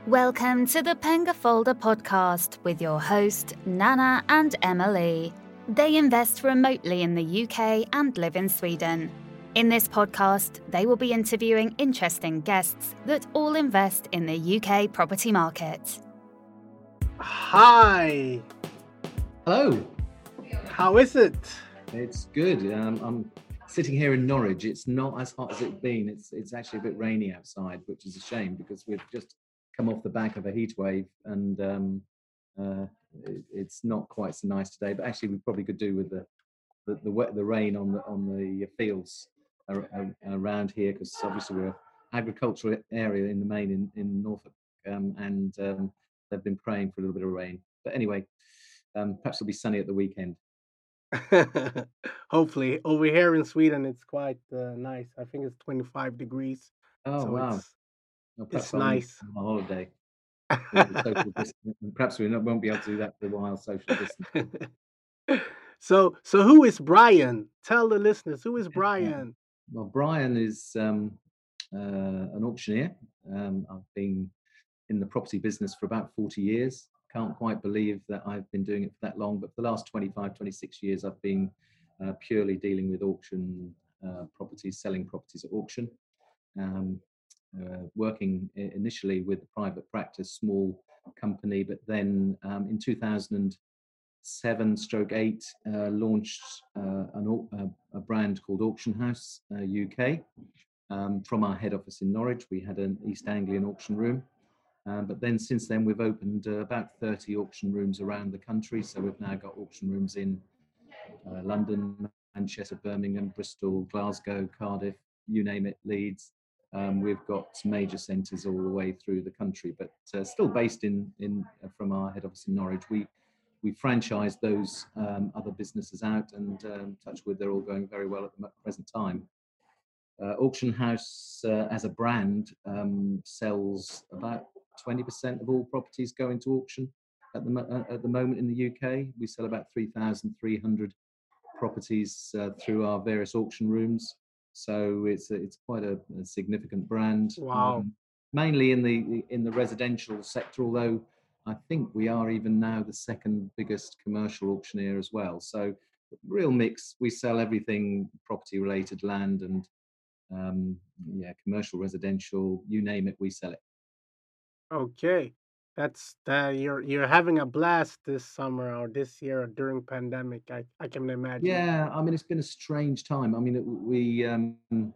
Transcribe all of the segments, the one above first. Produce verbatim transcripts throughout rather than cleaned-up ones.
Welcome to the Pengafolder podcast with your host, Nana and Emily. They invest remotely in the U K and live in Sweden. In this podcast, they will be interviewing interesting guests that all invest in the U K property market. Hi. Hello. How is it? It's good. Um, I'm sitting here in Norwich. It's not as hot as it's been. It's it's actually a bit rainy outside, which is a shame because we've just come off the back of a heat wave, and um, uh, it, it's not quite so nice today. But actually, we probably could do with the the, the wet the rain on the on the fields ar- ar- around here, because obviously we're an agricultural area in the main in in Norfolk, um, and um, they've been praying for a little bit of rain. But anyway, um, perhaps it'll be sunny at the weekend. Hopefully. Over here in Sweden, it's quite uh, nice. I think it's twenty-five degrees. Oh So wow! it's Well, perhaps it's I'll need nice. a holiday. With the social distance. Perhaps we not, won't be able to do that for a while. Social distance. so so who is Brian? Tell the listeners, who is Yeah. Brian? Well, Brian is um, uh, an auctioneer. Um, I've been in the property business for about forty years. Can't quite believe that I've been doing it for that long, but for the last twenty-five, twenty-six years, I've been uh, purely dealing with auction uh, properties, selling properties at auction. Um, uh, working initially with a private practice, small company, but then um, in two thousand seven stroke eight uh, launched uh, an, uh, a brand called Auction House uh, U K um, from our head office in Norwich. We had an East Anglian auction room. Um, but then since then, we've opened uh, about thirty auction rooms around the country. So we've now got auction rooms in uh, London, Manchester, Birmingham, Bristol, Glasgow, Cardiff, you name it, Leeds. Um, we've got major centres all the way through the country, but uh, still based in in uh, from our head office in Norwich. We we franchise those um, other businesses out, and um, touch wood, they're all going very well at the present time. Uh, Auction House uh, as a brand um, sells about twenty percent of all properties going to auction at the mo- at the moment in the U K. We sell about three thousand three hundred properties uh, through our various auction rooms. So it's a, it's quite a, a significant brand, Wow. um, mainly in the in the residential sector. Although I think we are even now the second biggest commercial auctioneer as well. So real mix. We sell everything property related, land and um, yeah, commercial, residential, you name it, we sell it. Okay. That's uh, you're you're having a blast this summer or this year during pandemic. I, I can imagine. Yeah, I mean, it's been a strange time. I mean, it, we um,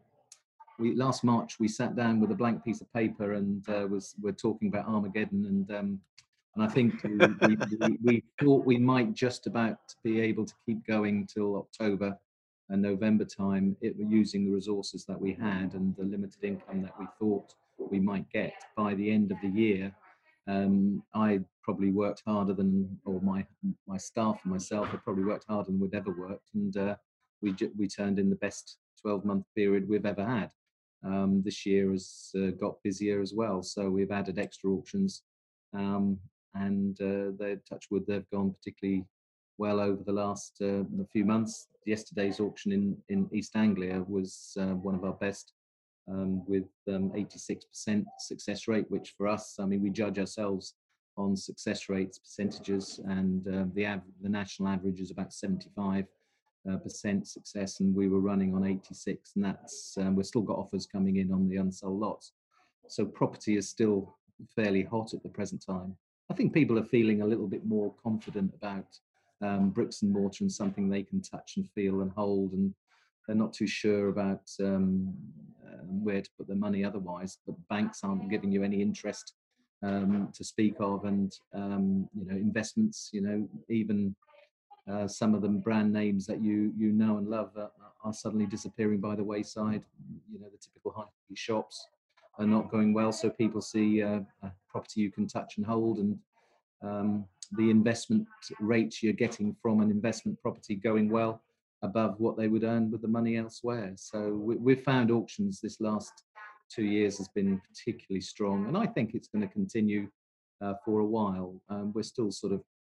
we last March we sat down with a blank piece of paper and uh, was we're talking about Armageddon, and um, and I think we, we, we, we thought we might just about be able to keep going till October and November time, it using the resources that we had and the limited income that we thought we might get by the end of the year. Um, I probably worked harder than, or my my staff and myself have probably worked harder than we'd ever worked, and uh, we we turned in the best twelve month period we've ever had. Um, this year has uh, got busier as well, so we've added extra auctions, um, and uh, they touch wood, they've gone particularly well over the last uh, few months. Yesterday's auction in in East Anglia was uh, one of our best, um, with um, eighty-six percent success rate, which for us, I mean, we judge ourselves on success rates, percentages, and uh, the av- the national average is about seventy-five uh, percent success, and we were running on eighty-six, and that's um, we've still got offers coming in on the unsold lots. So property is still fairly hot at the present time. I think people are feeling a little bit more confident about um, bricks and mortar and something they can touch and feel and hold, and they're not too sure about um, uh, where to put their money otherwise. But banks aren't giving you any interest um, to speak of, and um, you know, investments. You know, even uh, some of them brand names that you you know and love uh, are suddenly disappearing by the wayside. You know, the typical high street shops are not going well, so people see uh, a property you can touch and hold, and um, the investment rates you're getting from an investment property going well above what they would earn with the money elsewhere. So we, we've found auctions this last two years has been particularly strong, and I think it's going to continue uh, for a while. Um, we're still sort of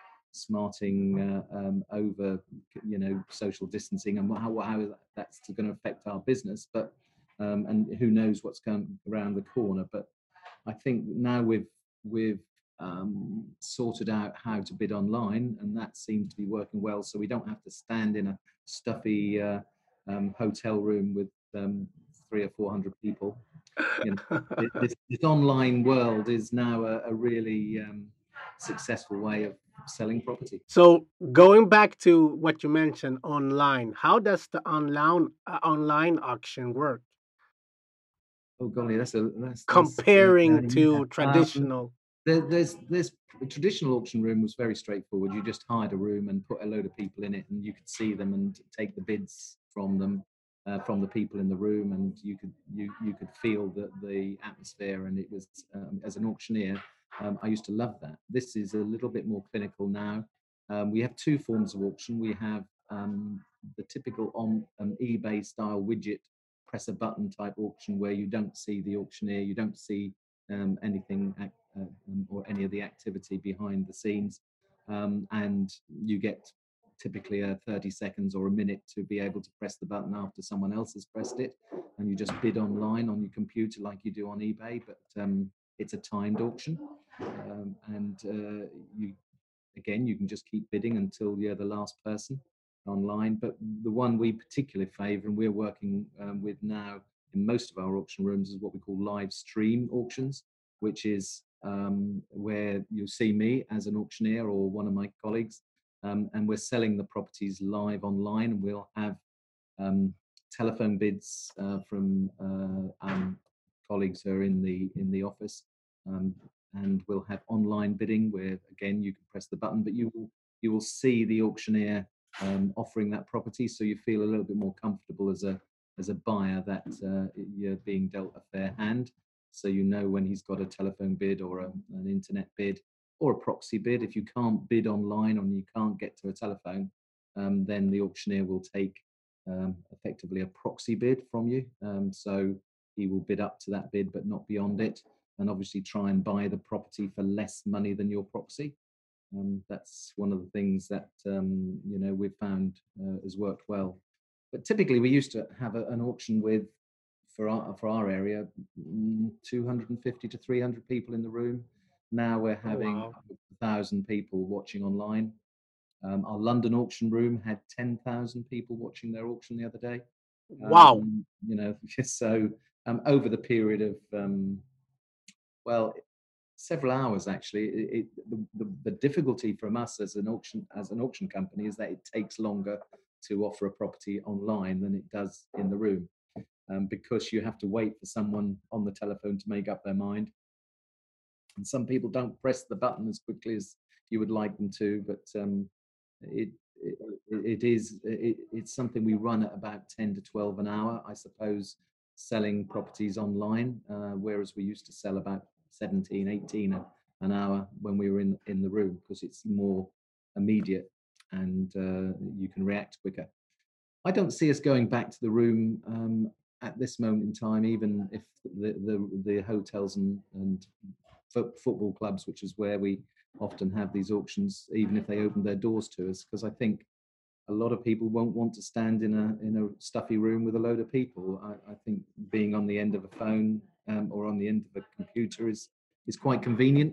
smarting uh, um, over, you know, social distancing and how, how that's going to affect our business, but um, and who knows what's coming around the corner. But I think now we've we've um, sorted out how to bid online, and that seems to be working well. So we don't have to stand in a stuffy uh, um, hotel room with um, three or four hundred people. You know, this, this online world is now a, a really um, successful way of selling property. So going back to what you mentioned online, how does the online uh, online auction work Oh golly, that's a that's that's uh, comparing yeah. to Um, traditional? there, there's there's the traditional auction room was very straightforward. You just hired a room and put a load of people in it, and you could see them and take the bids from them, uh, from the people in the room, and you could you you could feel the the atmosphere. And it was um, as an auctioneer, um, I used to love that. This is a little bit more clinical now. Um, we have two forms of auction. We have um, the typical on um, eBay style widget press a button type auction where you don't see the auctioneer, you don't see um, anything uh, um, or any of the activity behind the scenes, um, and you get typically a thirty seconds or a minute to be able to press the button after someone else has pressed it, and you just bid online on your computer like you do on eBay, but um, it's a timed auction, um, and uh, you again you can just keep bidding until you're the last person online. But the one we particularly favour and we're working um, with now in most of our auction rooms is what we call live stream auctions, which is um, where you'll see me as an auctioneer or one of my colleagues, um, and we're selling the properties live online. And we'll have um, telephone bids uh, from uh, um, colleagues who are in the in the office, um, and we'll have online bidding where again you can press the button, but you will you will see the auctioneer um, offering that property, so you feel a little bit more comfortable as a as a buyer that uh, you're being dealt a fair hand. So you know when he's got a telephone bid or a, an internet bid or a proxy bid. If you can't bid online or you can't get to a telephone, um, then the auctioneer will take um, effectively a proxy bid from you. Um, so he will bid up to that bid, but not beyond it, and obviously try and buy the property for less money than your proxy. Um, that's one of the things that um, you know we've found uh, has worked well. But typically, we used to have a, an auction with for our for our area, mm, two hundred fifty to three hundred people in the room. Now we're Oh having wow! a thousand people watching online. Um, our London auction room had ten thousand people watching their auction the other day. Wow! Um, you know, so um, over the period of um, well, several hours actually. It, it, the, the, the difficulty from us as an auction as an auction company is that it takes longer to offer a property online than it does in the room, um, because you have to wait for someone on the telephone to make up their mind. And some people don't press the button as quickly as you would like them to, but um, it, it it is it, it's something we run at about ten to twelve an hour, I suppose, selling properties online, uh, whereas we used to sell about seventeen, eighteen a, an hour when we were in in the room, because it's more immediate and uh, you can react quicker. I don't see us going back to the room um, at this moment in time, even if the the, the hotels and, and fo- football clubs, which is where we often have these auctions, even if they open their doors to us, because I think a lot of people won't want to stand in a in a stuffy room with a load of people. I, I think being on the end of a phone um, or on the end of a computer is is quite convenient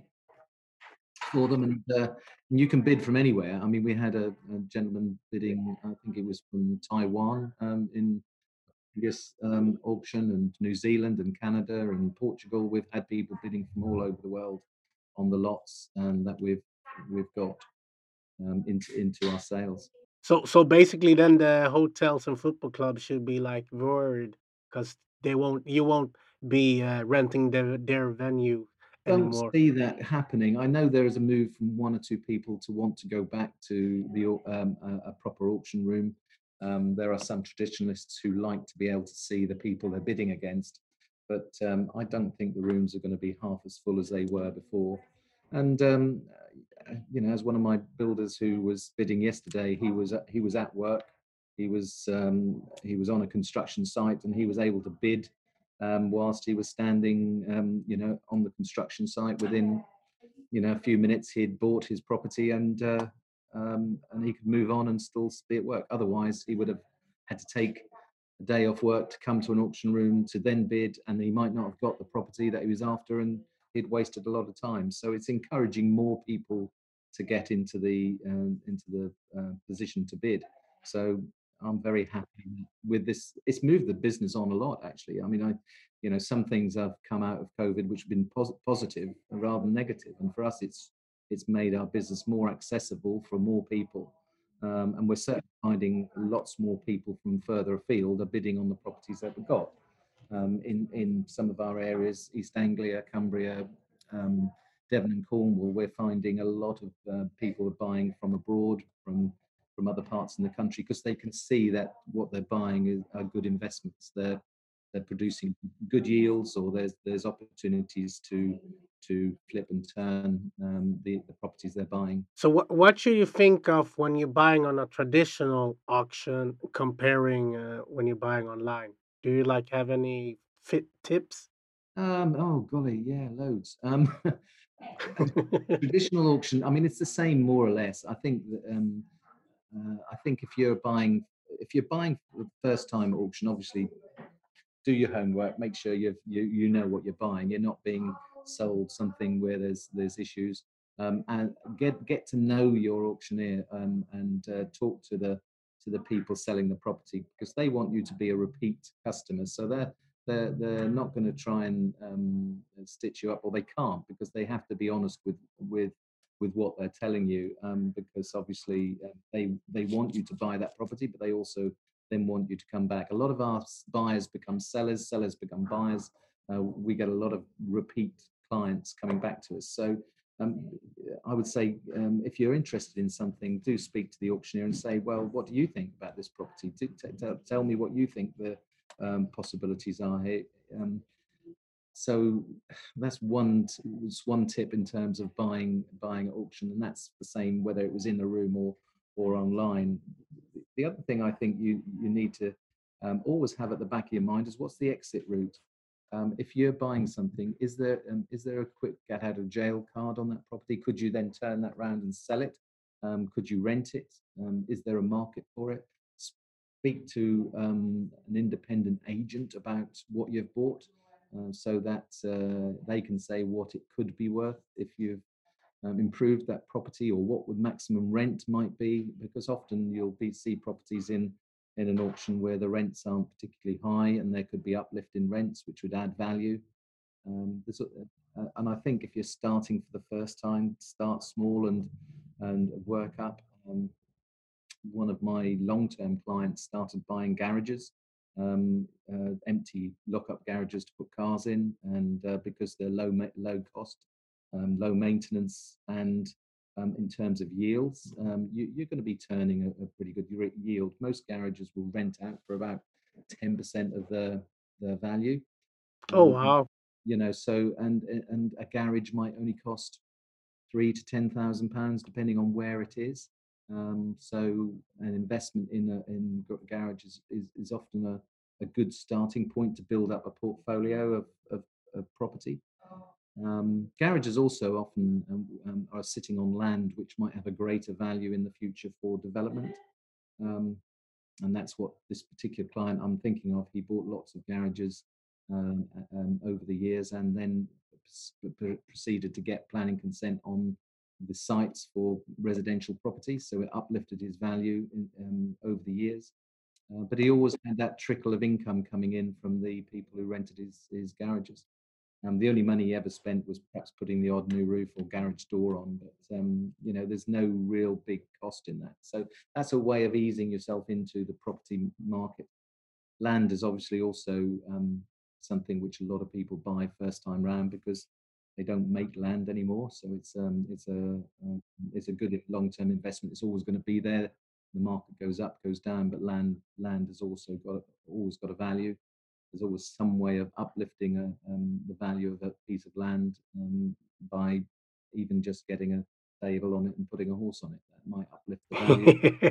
for them, and, uh, and you can bid from anywhere. I mean, we had a, a gentleman bidding, I think it was from Taiwan um, in previous um, auction, and New Zealand and Canada and Portugal. We've had people bidding from all over the world on the lots and that we've we've got um, into into our sales. So so basically, then the hotels and football clubs should be like worried because they won't you won't be uh, renting their their venue Don't anymore. see that happening. I know there is a move from one or two people to want to go back to the au- um, a, a proper auction room. Um, there are some traditionalists who like to be able to see the people they're bidding against, but um, I don't think the rooms are going to be half as full as they were before. And um, uh, you know, as one of my builders who was bidding yesterday, he was at, he was at work. He was um, he was on a construction site, and he was able to bid um, whilst he was standing, um, you know, on the construction site. Within, you know, a few minutes, he'd bought his property, and uh, um, and he could move on and still be at work. Otherwise, he would have had to take a day off work to come to an auction room to then bid, and he might not have got the property that he was after, and he'd wasted a lot of time. So it's encouraging more people to get into the um, into the uh, position to bid. So I'm very happy with this. It's moved the business on a lot, actually. I mean, I, you know, some things have come out of COVID which have been pos- positive rather than negative, and for us, it's it's made our business more accessible for more people. Um, and we're certainly finding lots more people from further afield are bidding on the properties that we've got. Um, in, in some of our areas, East Anglia, Cumbria, um, Devon and Cornwall, we're finding a lot of uh, people are buying from abroad, from from other parts in the country, because they can see that what they're buying is, are good investments. They're they're producing good yields, or there's there's opportunities to to flip and turn um, the, the properties they're buying. So what what should you think of when you're buying on a traditional auction comparing uh, when you're buying online? Do you like have any fit tips? Um, oh golly, yeah, loads. Um, traditional auction. I mean, it's the same more or less. I think that um, uh, I think if you're buying if you're buying for the first time at auction, obviously do your homework. Make sure you you you know what you're buying. You're not being sold something where there's there's issues. Um, and get get to know your auctioneer um, and uh, talk to the to the people selling the property, because they want you to be a repeat customer. So they're they're they're not going to try and um, stitch you up, or they can't, because they have to be honest with with with what they're telling you, um, because obviously uh, they they want you to buy that property, but they also then want you to come back. A lot of our buyers become sellers, sellers become buyers. Uh, we get a lot of repeat clients coming back to us. So um, I would say um, if you're interested in something, do speak to the auctioneer and say, well, what do you think about this property? T- t- tell me what you think the um, possibilities are here. Um, so that's one t- was one tip in terms of buying buying at auction, and that's the same whether it was in the room or or online. The other thing I think you you need to um, always have at the back of your mind is, what's the exit route? Um, if you're buying something, is there um, is there a quick get out of jail card on that property? Could you then turn that round and sell it? Um, could you rent it? Um, is there a market for it? Speak to um, an independent agent about what you've bought, uh, so that uh, they can say what it could be worth if you've um, improved that property, or what would maximum rent might be, because often you'll be see properties in in an auction where the rents aren't particularly high, and there could be uplift in rents which would add value. Um, uh, and I think if you're starting for the first time, start small and and work up. Um, one of my long-term clients started buying garages, um, uh, empty lock-up garages to put cars in, and uh, because they're low low cost, um, low maintenance, and um, in terms of yields, um, you, you're going to be turning a, a pretty good yield. Most garages will rent out for about ten percent of their their value. Oh Um, wow. you know, so and and a garage might only cost three to ten thousand pounds, depending on where it is. Um, so an investment in a in garage is, is, is often a, a good starting point to build up a portfolio of, of, of property. Um, garages also often um, um, are sitting on land which might have a greater value in the future for development. Um, and that's what this particular client I'm thinking of. He bought lots of garages um, um, over the years, and then proceeded to get planning consent on the sites for residential properties, so it uplifted his value in, um, over the years. Uh, but he always had that trickle of income coming in from the people who rented his, his garages. Um, the only money he ever spent was perhaps putting the odd new roof or garage door on, but um, you know, there's no real big cost in that. So that's a way of easing yourself into the property market. Land is obviously also um, something which a lot of people buy first time round, because they don't make land anymore. So it's um, it's a uh, it's a good long term investment. It's always going to be there. The market goes up, goes down, but land land has also got always got a value. There's always some way of uplifting a, um, the value of a piece of land um, by even just getting a stable on it and putting a horse on it. That might uplift the value.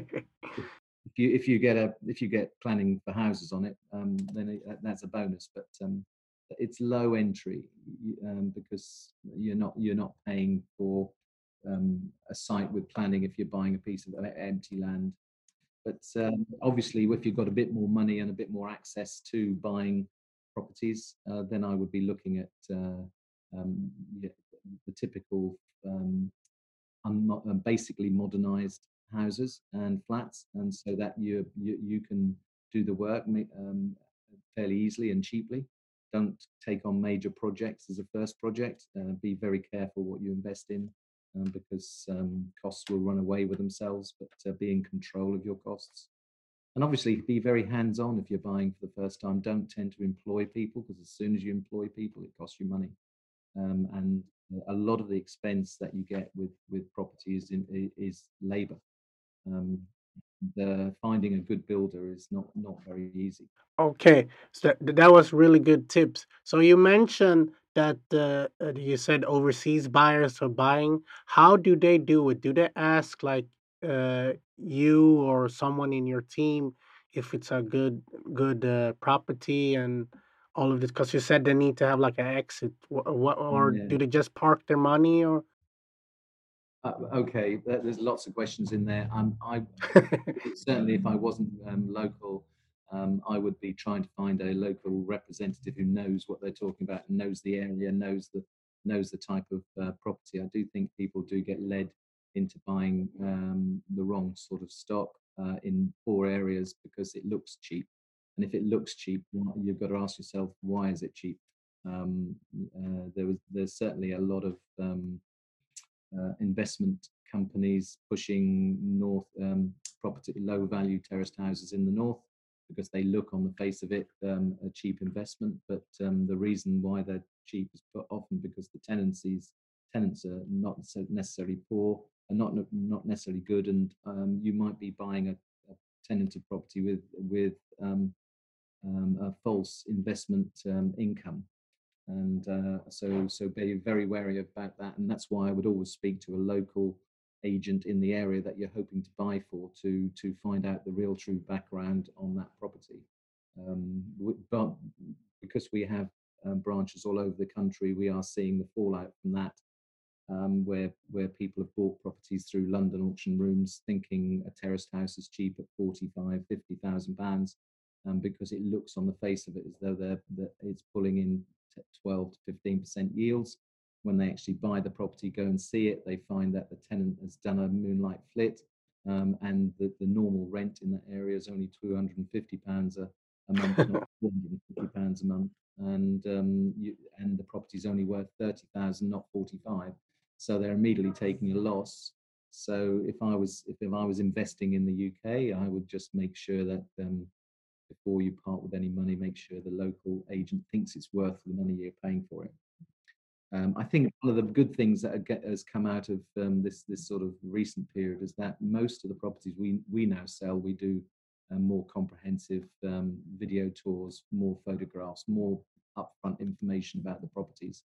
if you if you get a if you get planning for houses on it, um, then it, that's a bonus. But um, it's low entry um, because you're not you're not paying for um, a site with planning if you're buying a piece of empty land. But um, obviously, if you've got a bit more money and a bit more access to buying properties, uh, then I would be looking at uh, um, yeah, the typical um, unmo- uh, basically modernized houses and flats, and so that you you, you can do the work ma- um, fairly easily and cheaply. Don't take on major projects as a first project. Uh, be very careful what you invest in, um, because um, costs will run away with themselves. But uh, be in control of your costs, and obviously be very hands-on if you're buying for the first time. Don't tend to employ people, because as soon as you employ people, it costs you money, um, and a lot of the expense that you get with with property is in, is labor. Um, the finding a good builder is not not very easy. Okay, so that, that was really good tips. So you mentioned that uh, uh, you said overseas buyers are buying. How do they do it? Do they ask like uh, you or someone in your team if it's a good good uh, property and all of this? Because you said they need to have like an exit. What, what or Yeah. do they just park their money or? Uh, okay, there- there's lots of questions in there. Um, I certainly, if I wasn't um, local, um, I would be trying to find a local representative who knows what they're talking about, and knows the area, knows the knows the type of uh, property. I do think people do get led into buying um, the wrong sort of stock uh, in poor areas because it looks cheap, and if it looks cheap, why- you've got to ask yourself, why is it cheap? Um, uh, there was there's certainly a lot of um, uh, investment companies pushing north um, property, low value terraced houses in the north, because they look on the face of it um, a cheap investment. But um, the reason why they're cheap is often because the tenancies tenants are not so necessarily poor and not not necessarily good, and um, you might be buying a, a tenanted property with with um, um, a false investment um, income, and uh, so so be very wary about that. And that's why I would always speak to a local agent in the area that you're hoping to buy for, to to find out the real true background on that property. um, but because we have um, branches all over the country, we are seeing the fallout from that, um, where where people have bought properties through London auction rooms, thinking a terraced house is cheap at forty-five, fifty thousand pounds, um, because it looks on the face of it as though they're that it's pulling in twelve to fifteen percent yields. When they actually buy the property, go and see it, they find that the tenant has done a moonlight flit, um, and the, the normal rent in that area is only two hundred fifty pounds a, a month, not four hundred fifty pounds a month, and um, you, and the property's only worth thirty thousand, not forty-five. So they're immediately taking a loss. So if I was if, if I was investing in the U K, I would just make sure that um, before you part with any money, make sure the local agent thinks it's worth the money you're paying for it. Um, I think one of the good things that get, has come out of um, this this sort of recent period is that most of the properties we we now sell, we do um, more comprehensive um, video tours, more photographs, more upfront information about the properties,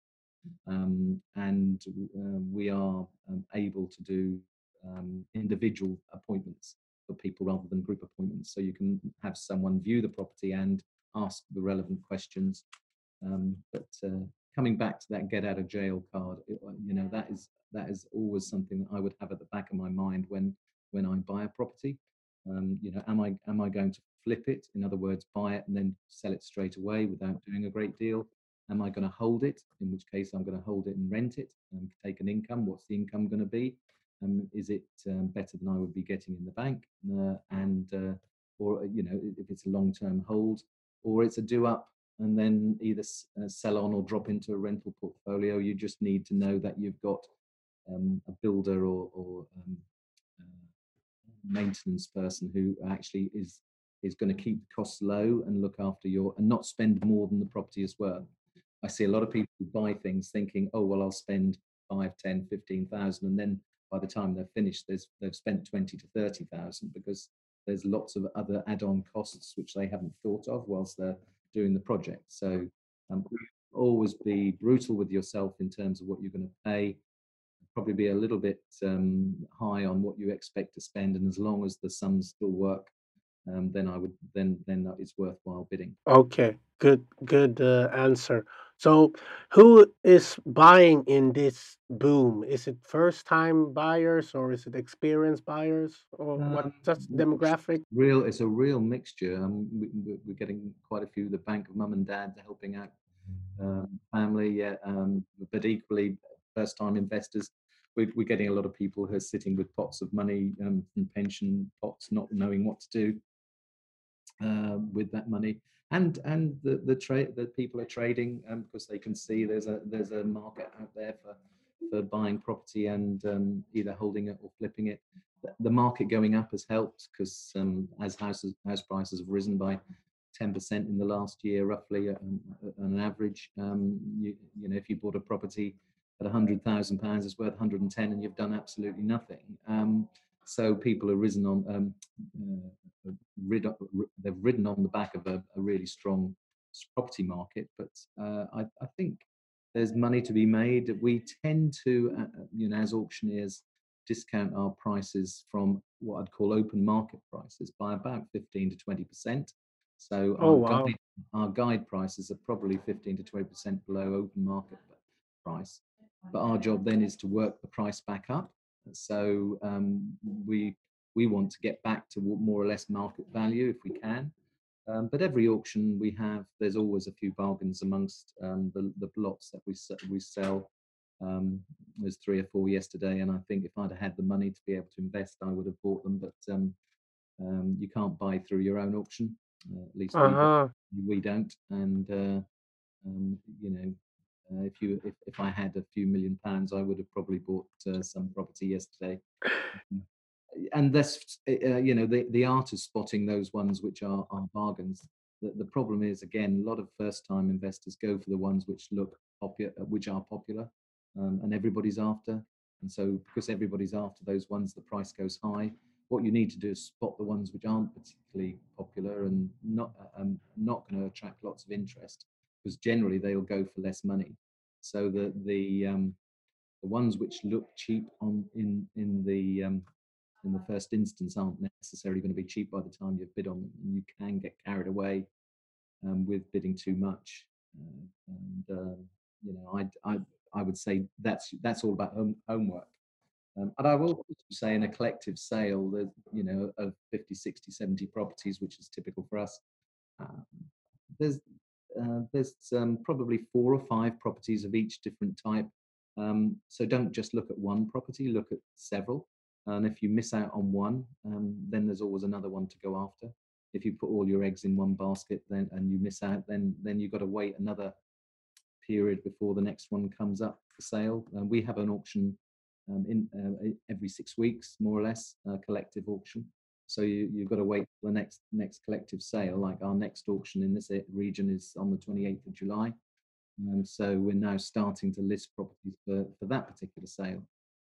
um, and uh, we are um, able to do um, individual appointments for people rather than group appointments. So you can have someone view the property and ask the relevant questions. Um, but uh, coming back to that get out of jail card, it, uh, you know, that is that is always something that I would have at the back of my mind when when I buy a property. Um, you know, am I am I going to flip it? In other words, buy it and then sell it straight away without doing a great deal? Am I going to hold it? In which case, I'm going to hold it and rent it and take an income. What's the income going to be? Um, is it um, better than I would be getting in the bank? Uh, and uh, or you know, if it's a long-term hold, or it's a do-up and then either uh, sell on or drop into a rental portfolio. You just need to know that you've got um, a builder or, or um, uh, maintenance person who actually is is going to keep costs low and look after your and not spend more than the property is worth. I see a lot of people who buy things thinking, oh well, I'll spend five, ten, fifteen thousand, and then by the time they're finished, there's they've spent twenty to thirty thousand, because there's lots of other add-on costs which they haven't thought of whilst they're doing the project. So um, always be brutal with yourself in terms of what you're going to pay. Probably be a little bit um, high on what you expect to spend, and as long as the sums still work, um, then I would then then it's worthwhile bidding. Okay, good, good uh, answer. So, who is buying in this boom? Is it first-time buyers or is it experienced buyers or what? Um, Just demographic? real, it's a real mixture. Um, we, we- we're getting quite a few. The bank of mum and dad helping out um, family, yeah, um, but equally first-time investors. We're, we're getting a lot of people who are sitting with pots of money um, from pension pots, not knowing what to do uh, with that money, and and the the trade that people are trading um, because they can see there's a there's a market out there for for buying property and um, either holding it or flipping it. The the market going up has helped because um, as houses house prices have risen by ten percent in the last year, roughly um, on an average. Um, you, you know, if you bought a property at one hundred thousand pounds, it's worth one hundred and ten, and you've done absolutely nothing. Um, so people have risen on um, uh, rid, they've ridden on the back of a, a really strong property market. But uh, I, I think there's money to be made. We tend to, uh, you know, as auctioneers, discount our prices from what I'd call open market prices by about fifteen to twenty percent. So Oh our wow. guide, our guide prices are probably fifteen to twenty percent below open market price. But our job then is to work the price back up. So um, we we want to get back to more or less market value if we can. Um, but every auction we have, there's always a few bargains amongst um, the, the lots that we we sell. Um, there's three or four yesterday, and I think if I'd had the money to be able to invest, I would have bought them. But um, um, you can't buy through your own auction. Uh, at least we don't, Uh-huh. we don't. And uh, um, you know, uh, if you if, if I had a few million pounds, I would have probably bought uh, some property yesterday. And that's uh, you know the the art of spotting those ones which are, are bargains. The, the problem is again a lot of first time investors go for the ones which look popular, which are popular, um, and everybody's after. And so because everybody's after those ones, the price goes high. What you need to do is spot the ones which aren't particularly popular and not um, not going to attract lots of interest, because generally they'll go for less money. So the the um, the ones which look cheap on in in the um, in the first instance aren't necessarily going to be cheap by the time you've bid on them, and you can get carried away um, with bidding too much. Uh, and uh, you know, I, I I would say that's that's all about home, homework. Um, and I will also say in a collective sale, that you know, of fifty, sixty, seventy properties, which is typical for us, um, there's uh, there's um, probably four or five properties of each different type. Um, so don't just look at one property, look at several. And if you miss out on one, um, then there's always another one to go after. If you put all your eggs in one basket, then and you miss out, then then you've got to wait another period before the next one comes up for sale. And we have an auction um, in uh, every six weeks, more or less, a collective auction. So you, you've got to wait for the next next collective sale. Like our next auction in this region is on the twenty-eighth of July. And so we're now starting to list properties for, for that particular sale.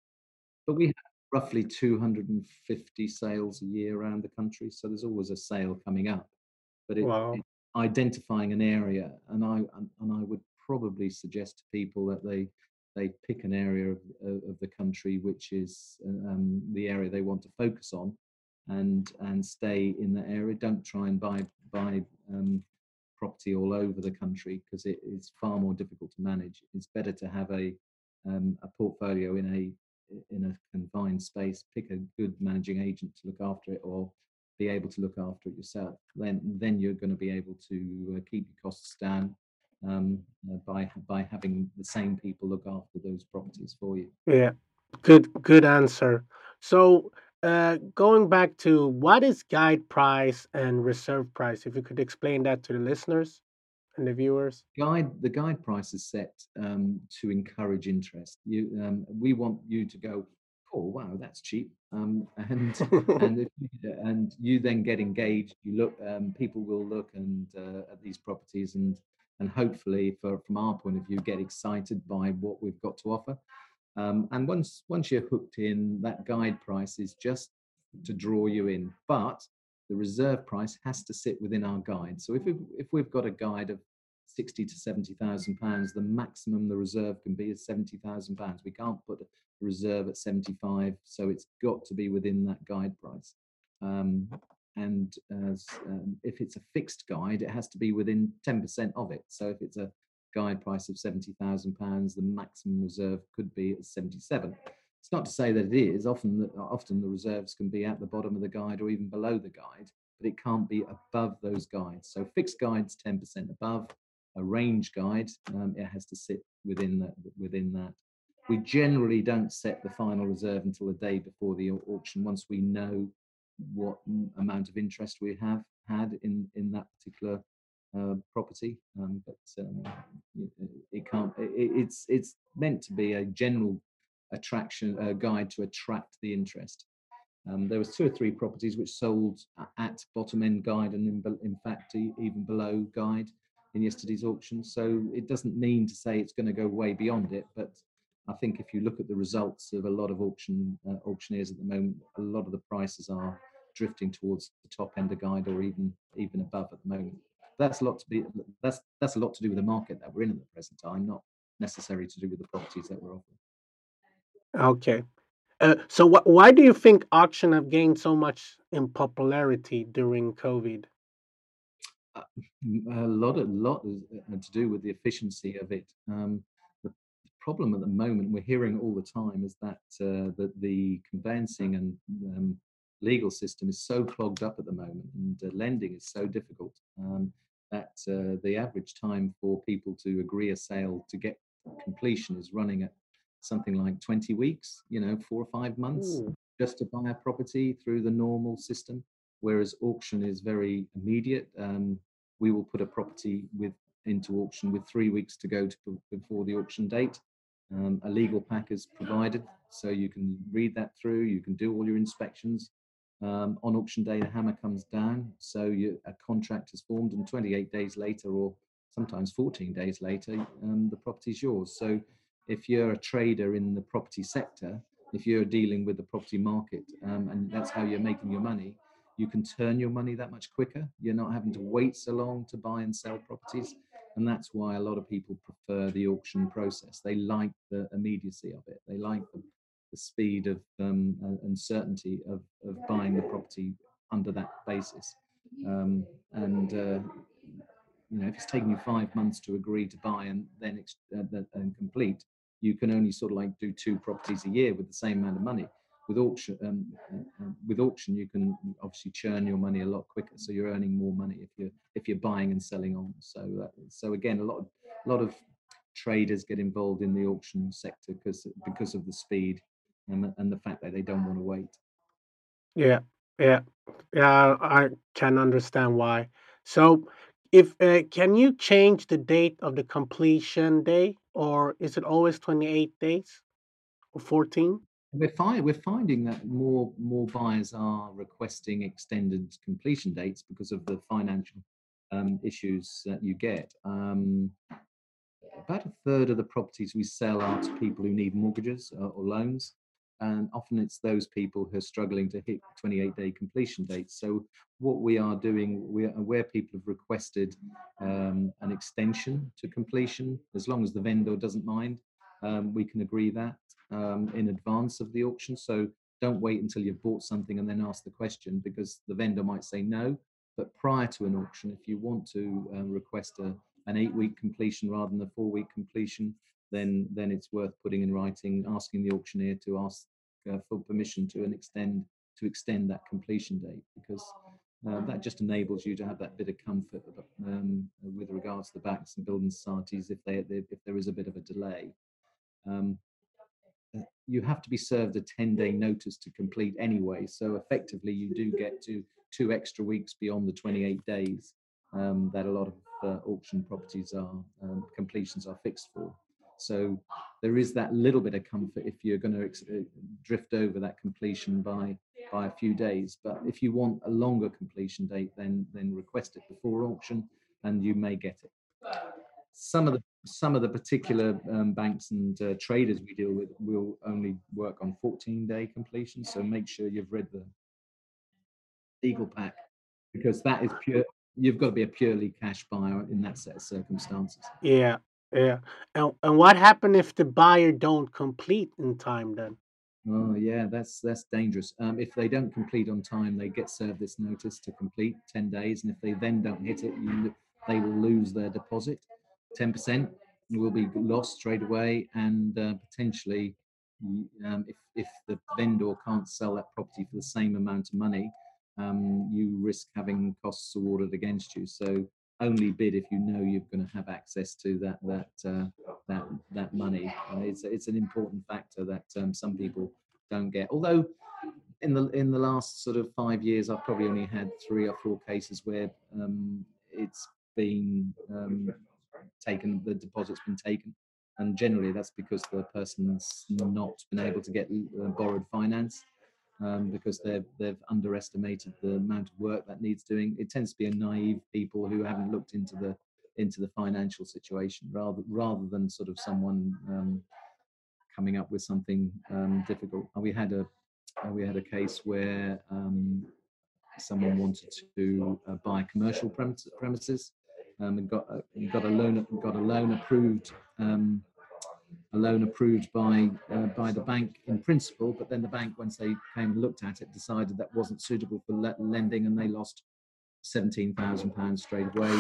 But we have roughly two hundred fifty sales a year around the country. So there's always a sale coming up. But it, Wow. it identifying an area, and I and, and I would probably suggest to people that they they pick an area of, of the country which is um, the area they want to focus on, and and stay in that area. Don't try and buy buy um, property all over the country, because it is far more difficult to manage. It's better to have a um, a portfolio in a in a confined space. Pick a good managing agent to look after it, or be able to look after it yourself. Then then you're going to be able to uh, keep your costs down um, uh, by by having the same people look after those properties for you. Yeah. Good good answer. So uh going back to what is guide price and reserve price, if you could explain that to the listeners and the viewers. Guide the guide price is set um, to encourage interest. You um, we want you to go, oh wow, that's cheap, um, and and if you, and you then get engaged. You look, um, people will look and uh, at these properties, and and hopefully, for, from our point of view, get excited by what we've got to offer. Um, and once once you're hooked in, that guide price is just to draw you in, but the reserve price has to sit within our guide. So if we if we've got a guide of sixty to seventy thousand pounds, the maximum the reserve can be is seventy thousand pounds. We can't put a reserve at seventy-five, so it's got to be within that guide price. Um, and as, um, if it's a fixed guide, it has to be within ten percent of it. So if it's a guide price of seventy thousand pounds, the maximum reserve could be at seventy-seven. It's not to say that it is. Often, the, often the reserves can be at the bottom of the guide or even below the guide, but it can't be above those guides. So fixed guides ten percent above, a range guide, um, it has to sit within that. Within that, we generally don't set the final reserve until the day before the auction. Once we know what amount of interest we have had in in that particular uh, property, um, but um, it can't. It, it's it's meant to be a general attraction uh, guide to attract the interest. Um, there was two or three properties which sold at bottom end guide and in, in fact even below guide in yesterday's auction. So it doesn't mean to say it's going to go way beyond it, but I think if you look at the results of a lot of auction uh, auctioneers at the moment, a lot of the prices are drifting towards the top end of guide or even even above at the moment. That's a lot to be that's that's a lot to do with the market that we're in at the present time, not necessarily to do with the properties that we're offering. Okay. Uh, so wh- why do you think auction have gained so much in popularity during COVID? Uh, a lot, a lot is uh, to do with the efficiency of it. Um, the problem at the moment, we're hearing all the time, is that uh, that the conveyancing and um, legal system is so clogged up at the moment, and uh, lending is so difficult um, that uh, the average time for people to agree a sale to get completion is running at something like twenty weeks. You know, four or five months Ooh. just to buy a property through the normal system. Whereas auction is very immediate. Um, we will put a property with into auction with three weeks to go to, before the auction date. Um, a legal pack is provided, so you can read that through. You can do all your inspections. Um, on auction day, the hammer comes down, so you, a contract is formed, and twenty-eight days later, or sometimes fourteen days later, um, the property is yours. So, if you're a trader in the property sector, if you're dealing with the property market, um, and that's how you're making your money, you can turn your money that much quicker. You're not having to wait so long to buy and sell properties. And that's why a lot of people prefer the auction process. They like the immediacy of it. They like the, the speed of um, and certainty of, of buying the property under that basis. Um, and uh, you know, if it's taking you five months to agree to buy and then ex- uh, and complete, you can only sort of like do two properties a year with the same amount of money. With auction, um, uh, with auction, you can obviously churn your money a lot quicker, so you're earning more money if you're if you're buying and selling on. So, uh, so again, a lot of a lot of traders get involved in the auction sector because because of the speed and and the fact that they don't want to wait. Yeah, yeah, yeah. I can understand why. So, if uh, can you change the date of the completion day, or is it always twenty-eight days or fourteen? We're find, we're finding that more more buyers are requesting extended completion dates because of the financial um, issues that you get. Um, about a third of the properties we sell are to people who need mortgages uh, or loans, and often it's those people who are struggling to hit twenty-eight day completion dates. So what we are doing, we are where people have requested um, an extension to completion, as long as the vendor doesn't mind, um, we can agree that um, in advance of the auction. So don't wait until you've bought something and then ask the question, because the vendor might say no. But prior to an auction, if you want to uh, request a an eight-week completion rather than a four-week completion, then then it's worth putting in writing, asking the auctioneer to ask uh, for permission to an extend to extend that completion date, because uh, that just enables you to have that bit of comfort um, with regards to the banks and building societies if they, they if there is a bit of a delay. Um, you have to be served a ten day notice to complete anyway. So effectively, you do get to two extra weeks beyond the twenty-eight days um, that a lot of uh, auction properties are, um, completions are fixed for. So there is that little bit of comfort if you're going to ex- uh, drift over that completion by by a few days. But if you want a longer completion date, then then request it before auction, and you may get it. Some of the some of the particular um, banks and uh, traders we deal with will only work on fourteen day completion. So make sure you've read the legal pack, because that is pure. You've got to be a purely cash buyer in that set of circumstances. Yeah, yeah. And and what happened if the buyer don't complete in time then? Oh yeah, that's that's dangerous. Um, if they don't complete on time, they get served this notice to complete ten days, and if they then don't hit it, you, they will lose their deposit. ten percent will be lost straight away, and uh, potentially, um, if if the vendor can't sell that property for the same amount of money, um, you risk having costs awarded against you. So only bid if you know you're going to have access to that that uh, that that money. Uh, it's it's an important factor that um, some people don't get. Although in the in the last sort of five years, I've probably only had three or four cases where um, it's been um, taken, the deposit's been taken, and generally that's because the person's not been able to get uh, borrowed finance. Um, because they've they've underestimated the amount of work that needs doing. It tends to be a naive people who haven't looked into the into the financial situation, rather rather than sort of someone um, coming up with something um, difficult. And we had a uh, we had a case where um, someone wanted to uh, buy commercial premise, premises um, and got a, got a loan got a loan approved. Um, a loan approved by uh, by the bank in principle, but then the bank, once they came and looked at it, decided that wasn't suitable for le- lending, and they lost seventeen thousand pounds straight away.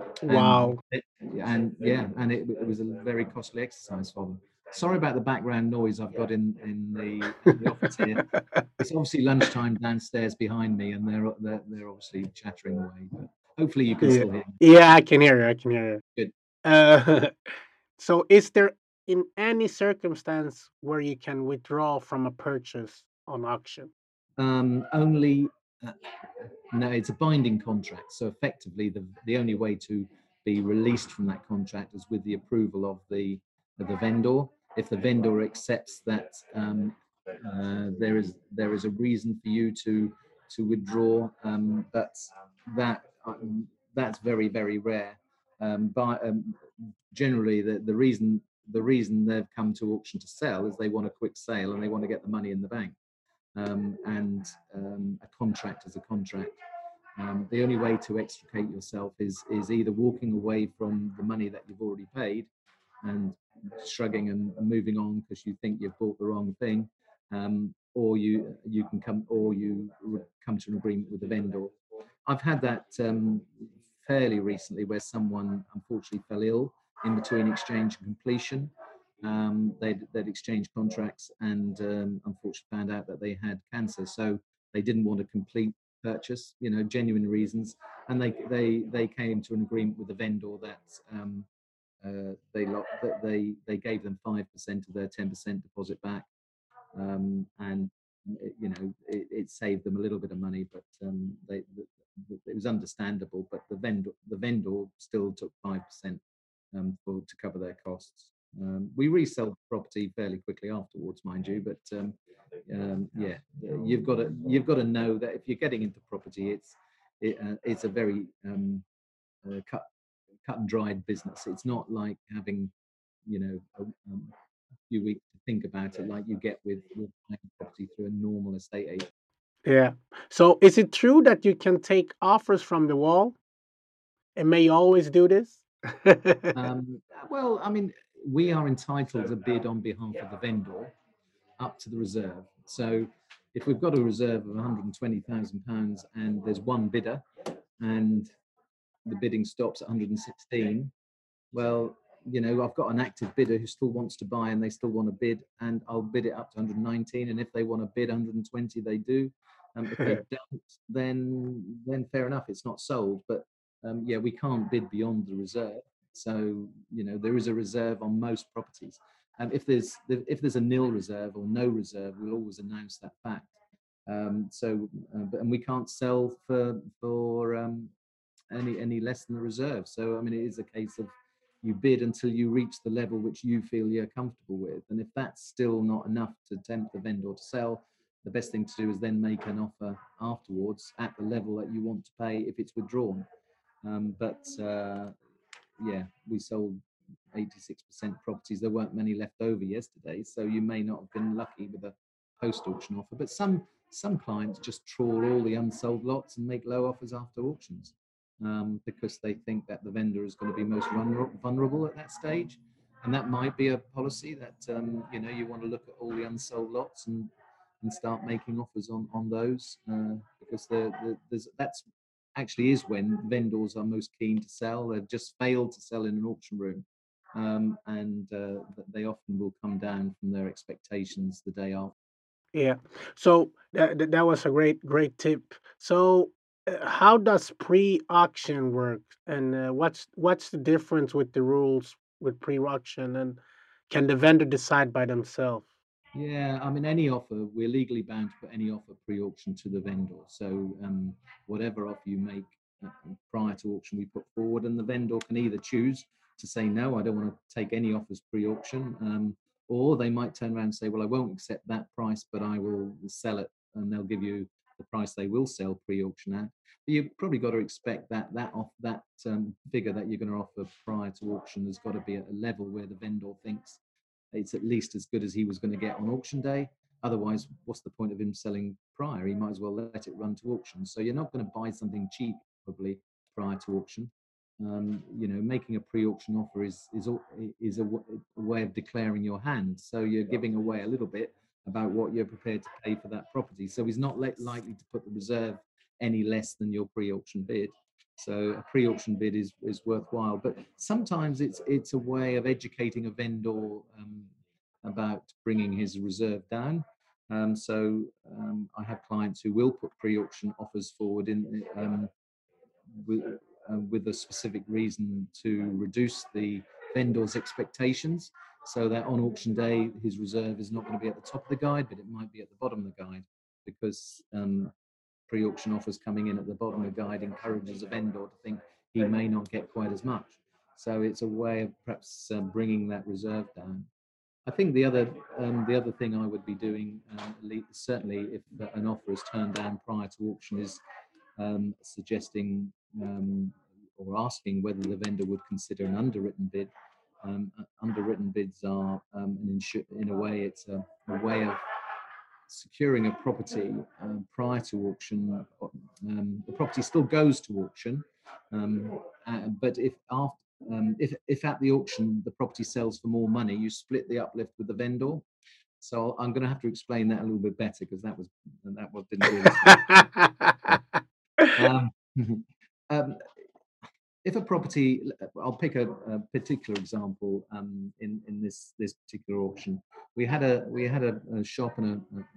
And Wow. it, and yeah, and it, it was a very costly exercise for them. Sorry about the background noise I've got in in the, in the office here. It's obviously lunchtime downstairs behind me, and they're they're, they're obviously chattering away. But hopefully you can Yeah. still hear me. Yeah, I can hear you. I can hear you. Good. Uh, so, is there in any circumstance where you can withdraw from a purchase on auction? Um, only uh, no, it's a binding contract. So effectively, the the only way to be released from that contract is with the approval of the of the vendor. If the vendor accepts that um, uh, there is there is a reason for you to to withdraw, um, but that um, that's very very rare. Um, but um, generally, the the reason the reason they've come to auction to sell is they want a quick sale and they want to get the money in the bank. Um, and um, a contract is a contract. Um, the only way to extricate yourself is is either walking away from the money that you've already paid and shrugging and, and moving on because you think you've bought the wrong thing, um, or you you can come or you come to an agreement with the vendor. I've had that um, fairly recently where someone unfortunately fell ill in between exchange and completion. Um, they'd, they'd exchanged contracts and um, unfortunately found out that they had cancer, so they didn't want to complete purchase, you know, genuine reasons, and they they they came to an agreement with the vendor that um, uh, they lo- that they they gave them five percent of their ten percent deposit back, um, and it, you know it, it saved them a little bit of money, but um, they the, it was understandable. But the vendor the vendor still took five percent um, for to cover their costs. Um, we resell the property fairly quickly afterwards, mind you, but um, um, yeah, you've got to you've got to know that if you're getting into property, it's it, uh, it's a very um, uh, cut cut and dried business. It's not like having you know a, um, a few weeks to think about it like you get with with buying property through a normal estate agent. Yeah. So, is it true that you can take offers from the wall? And may you always do this? Um, well, I mean, we are entitled to bid on behalf of the vendor up to the reserve. So if we've got a reserve of one hundred twenty thousand pounds and there's one bidder and the bidding stops at one hundred sixteen, well, you know, I've got an active bidder who still wants to buy and they still want to bid, and I'll bid it up to one hundred nineteen. And if they want to bid one hundred twenty, they do. Um, if they don't, then then fair enough, it's not sold. But um, yeah, we can't bid beyond the reserve. So you know, there is a reserve on most properties. Um, if there's if there's a nil reserve or no reserve, we'll always announce that fact. Um, so, uh, but, and we can't sell for for um, any any less than the reserve. So I mean, it is a case of you bid until you reach the level which you feel you're comfortable with, and if that's still not enough to tempt the vendor to sell, the best thing to do is then make an offer afterwards at the level that you want to pay if it's withdrawn. Um, but uh, yeah, we sold eighty-six percent properties. There weren't many left over yesterday, so you may not have been lucky with a post-auction offer. But some some clients just trawl all the unsold lots and make low offers after auctions um, because they think that the vendor is going to be most vulnerable at that stage. And that might be a policy that um, you know you want to look at all the unsold lots and and start making offers on on those uh, because the, the, there's that's actually is when vendors are most keen to sell. They've just failed to sell in an auction room, um, and uh, they often will come down from their expectations the day after. Yeah. So that that that was a great great tip. So uh, how does pre-auction work, and uh, what's what's the difference with the rules with pre-auction, and can the vendor decide by themselves? Yeah, I mean, any offer, we're legally bound to put any offer pre-auction to the vendor. So um, whatever offer you make uh, prior to auction, we put forward, and the vendor can either choose to say, no, I don't want to take any offers pre-auction, um, or they might turn around and say, well, I won't accept that price, but I will sell it, and they'll give you the price they will sell pre-auction at. But you've probably got to expect that that off that um, figure that you're going to offer prior to auction has got to be at a level where the vendor thinks it's at least as good as he was going to get on auction day. Otherwise, what's the point of him selling prior? He might as well let it run to auction. So you're not going to buy something cheap probably prior to auction. Um, you know, making a pre-auction offer is is is a, a way of declaring your hand. So you're giving away a little bit about what you're prepared to pay for that property. So he's not likely to put the reserve any less than your pre-auction bid. So a pre-auction bid is, is worthwhile, but sometimes it's it's a way of educating a vendor um, about bringing his reserve down. Um, so um, I have clients who will put pre-auction offers forward in um, with, uh, with a specific reason to reduce the vendor's expectations, so that on auction day his reserve is not going to be at the top of the guide, but it might be at the bottom of the guide, because um, pre-auction offers coming in at the bottom of the guide encourages a vendor to think he may not get quite as much. So it's a way of perhaps uh, bringing that reserve down. I think the other um, the other thing I would be doing, um, certainly if an offer is turned down prior to auction, is um, suggesting um, or asking whether the vendor would consider an underwritten bid. Um, underwritten bids are um, an insu- in a way it's a, a way of securing a property um, prior to auction. Um, the property still goes to auction, um, uh, but if after um, if if at the auction the property sells for more money, you split the uplift with the vendor. So I'm going to have to explain that a little bit better, because that was that was didn't really. Um, um, if a property, I'll pick a, a particular example um, in in this this particular auction. We had a we had a, a shop and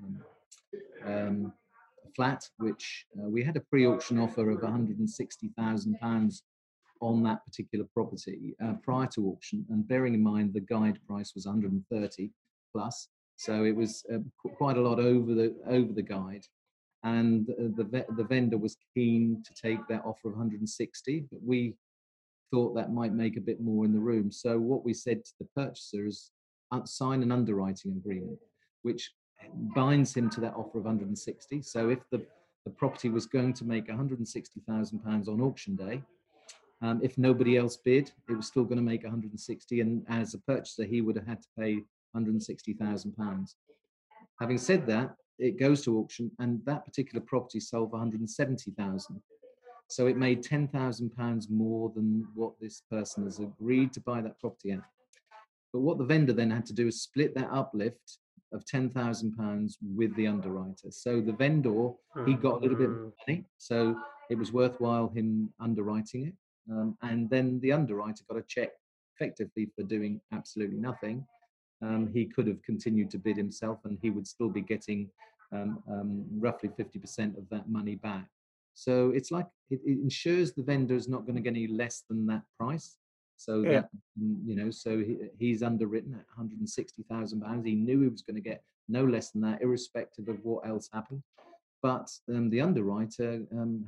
a, a, um, a flat which uh, we had a pre-auction offer of one hundred sixty thousand pounds on that particular property uh, prior to auction, and bearing in mind the guide price was one hundred thirty plus, so it was uh, quite a lot over the over the guide. And uh, the the vendor was keen to take that offer of one hundred sixty, but we thought that might make a bit more in the room. So what we said to the purchaser is uh, sign an underwriting agreement, which binds him to that offer of one hundred sixty. So if the, the property was going to make one hundred sixty thousand pounds on auction day, um, if nobody else bid, it was still going to make one hundred sixty. And as a purchaser, he would have had to pay one hundred sixty thousand pounds. Having said that, it goes to auction, and that particular property sold for one hundred seventy thousand. So it made ten thousand pounds more than what this person has agreed to buy that property at. But what the vendor then had to do is split that uplift of ten thousand pounds with the underwriter. So the vendor, he got a little bit more money. So it was worthwhile him underwriting it. Um, and then the underwriter got a check effectively for doing absolutely nothing. Um, he could have continued to bid himself, and he would still be getting um, um, roughly fifty percent of that money back. So it's like it, it ensures the vendor is not going to get any less than that price. So Yeah. that, you know, so he, he's underwritten at one hundred sixty thousand pounds. He knew he was going to get no less than that, irrespective of what else happened. But um, the underwriter um,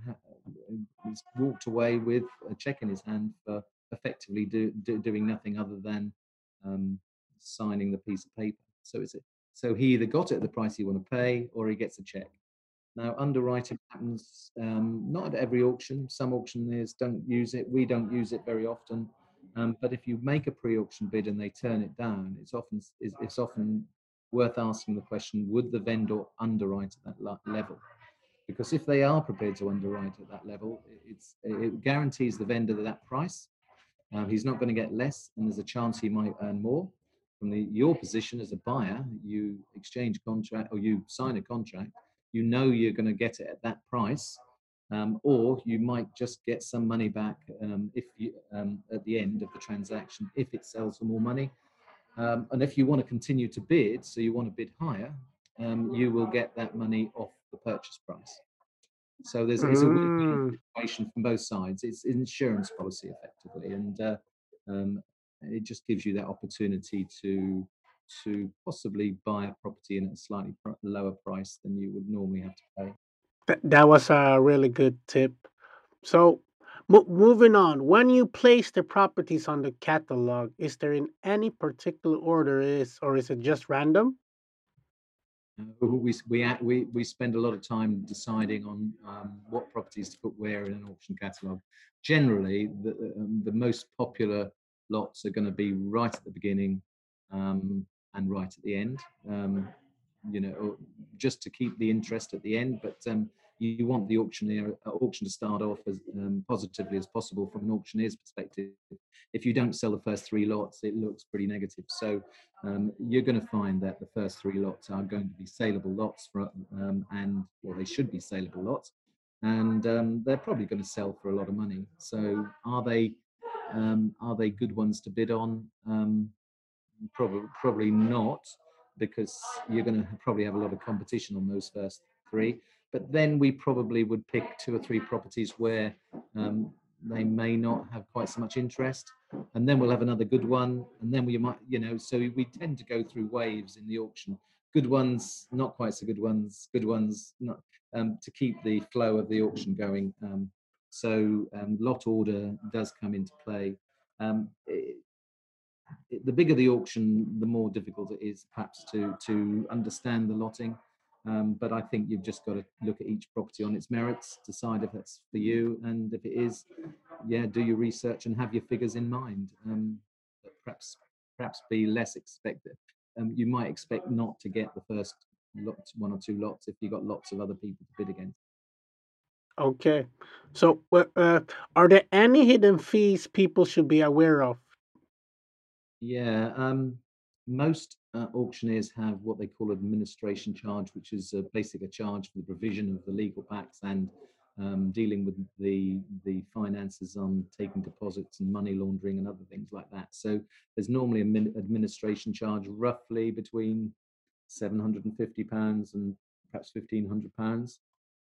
ha- walked away with a check in his hand for effectively do, do, doing nothing other than um, signing the piece of paper. So it's a, so he either got it at the price he want to pay, or he gets a check. Now, underwriting happens um, not at every auction. Some auctioneers don't use it. We don't use it very often. Um, but if you make a pre-auction bid and they turn it down, it's often it's, it's often worth asking the question: would the vendor underwrite at that level? Because if they are prepared to underwrite at that level, it's it guarantees the vendor that price. Um, he's not going to get less, and there's a chance he might earn more. From the, your position as a buyer, you exchange contract or you sign a contract, you know you're going to get it at that price, um, or you might just get some money back um, if you um, at the end of the transaction if it sells for more money. Um, and if you want to continue to bid, so you want to bid higher, um, you will get that money off the purchase price. So there's it's a win-win Mm. situation from both sides. It's insurance policy effectively, and uh, um, it just gives you that opportunity to to possibly buy a property in a slightly pr- lower price than you would normally have to pay. That that was a really good tip. So, mo moving on, when you place the properties on the catalog, is there in any particular order is or is it just random? Uh, we we act- we we spend a lot of time deciding on um, what properties to put where in an auction catalog. Generally, the um, the most popular lots are going to be right at the beginning um, and right at the end. Um, you know, just to keep the interest at the end. But um, you, you want the auctioneer uh, auction to start off as um, positively as possible from an auctioneer's perspective. If you don't sell the first three lots, it looks pretty negative. So um, you're going to find that the first three lots are going to be saleable lots, for, um, and well, they should be saleable lots, and um, they're probably going to sell for a lot of money. So are they um, are they good ones to bid on? Um, Probably, probably not, because you're going to probably have a lot of competition on those first three. But then we probably would pick two or three properties where um, they may not have quite so much interest, and then we'll have another good one, and then we might, you know, so we tend to go through waves in the auction. Good ones, not quite so good ones, good ones, not um, to keep the flow of the auction going. Um, so um, lot order does come into play. Um, the bigger the auction, the more difficult it is perhaps to to understand the lotting. Um, but I think you've just got to look at each property on its merits, decide if it's for you, and if it is, yeah, do your research and have your figures in mind. Um, but perhaps perhaps be less expected. Um, you might expect not to get the first lot, one or two lots, if you've got lots of other people to bid against. Okay. So, wh- uh, are there any hidden fees people should be aware of? Yeah, um, most uh, auctioneers have what they call administration charge, which is uh, basically a charge for the provision of the legal packs and um, dealing with the the finances on taking deposits and money laundering and other things like that. So there's normally a min- administration charge roughly between seven hundred and fifty pounds and perhaps fifteen hundred pounds.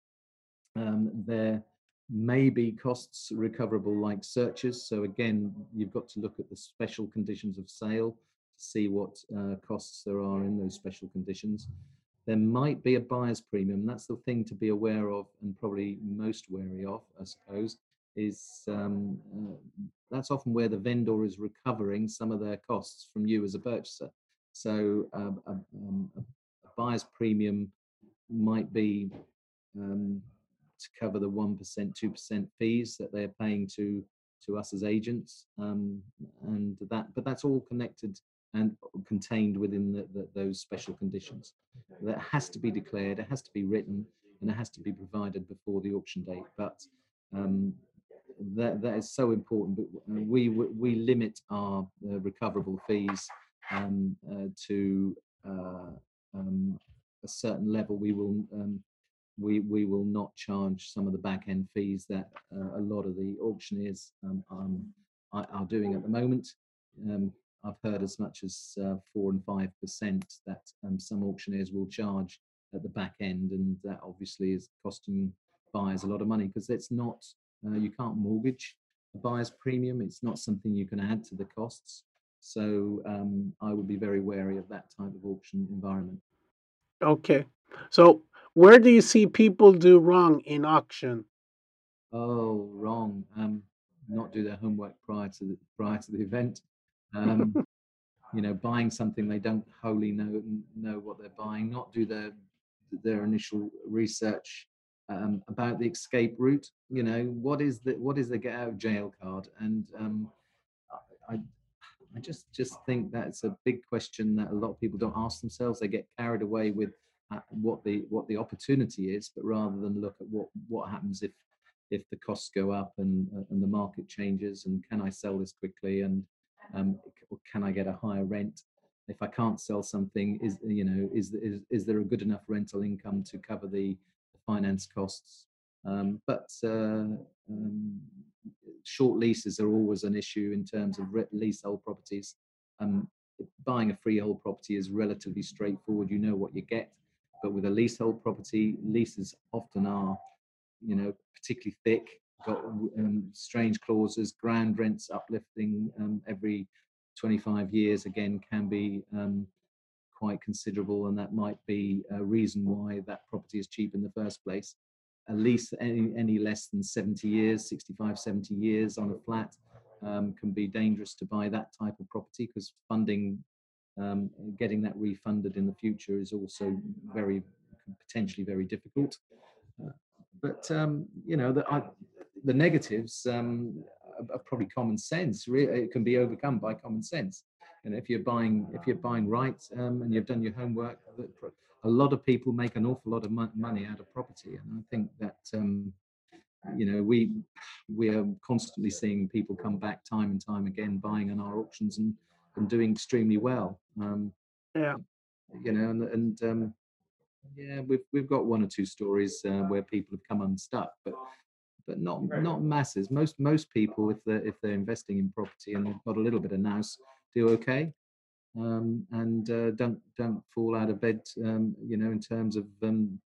Um, there may be costs recoverable like searches. So again, you've got to look at the special conditions of sale to see what uh, costs there are in those special conditions. There might be a buyer's premium. That's the thing to be aware of, and probably most wary of, I suppose, is um, uh, that's often where the vendor is recovering some of their costs from you as a purchaser. So um, a, um, a buyer's premium might be um, to cover the one percent, two percent fees that they're paying to to us as agents, um, and that. But that's all connected and contained within the, the, those special conditions. That has to be declared, it has to be written, and it has to be provided before the auction date. But um, that that is so important. But we we limit our uh, recoverable fees um, uh, to uh, um, a certain level. We will um, we we will not charge some of the back end fees that uh, a lot of the auctioneers um, um, are, are doing at the moment. Um, I've heard as much as uh, four and five percent that um, some auctioneers will charge at the back end, and that obviously is costing buyers a lot of money, because it's not uh, you can't mortgage a buyer's premium. It's not something you can add to the costs. So um, I would be very wary of that type of auction environment. Okay. So, where do you see people do wrong in auction? Oh, wrong. Um, not do their homework prior to the prior to the event. Um, you know, buying something they don't wholly know know what they're buying. Not do their their initial research um, about the escape route. You know, what is the what is the get out of jail card? And um, I, I I just just think that's a big question that a lot of people don't ask themselves. They get carried away with uh, what the what the opportunity is, but rather than look at what what happens if if the costs go up and uh, and the market changes, and can I sell this quickly, and um, can I get a higher rent? If I can't sell something, is you know is is is there a good enough rental income to cover the, the finance costs? Um, but uh, um, short leases are always an issue in terms of re- leasehold properties. Um, Buying a freehold property is relatively straightforward. You know what you get. But with a leasehold property, leases often are you know, particularly thick, got um, strange clauses, ground rents uplifting um, every twenty-five years, again, can be um, quite considerable, and that might be a reason why that property is cheap in the first place. At least any, any less than seventy years, sixty-five, seventy years on a flat um, can be dangerous to buy that type of property, because funding, um, getting that refunded in the future is also very, potentially very difficult. Uh, but um, you know, the, I, the negatives um, are, are probably common sense. Really, it can be overcome by common sense. And if you're buying, if you're buying right, um, and you've done your homework, a lot of people make an awful lot of mo- money out of property, and I think that um, you know, we we are constantly seeing people come back time and time again, buying on our auctions and and doing extremely well. Um, Yeah. you know, and and um, yeah, we've we've got one or two stories uh, where people have come unstuck, but but not not masses. Most most people, if they're if they're investing in property and they've got a little bit of nous, do okay, um, and uh, don't don't fall out of bed. Um, you know, in terms of um,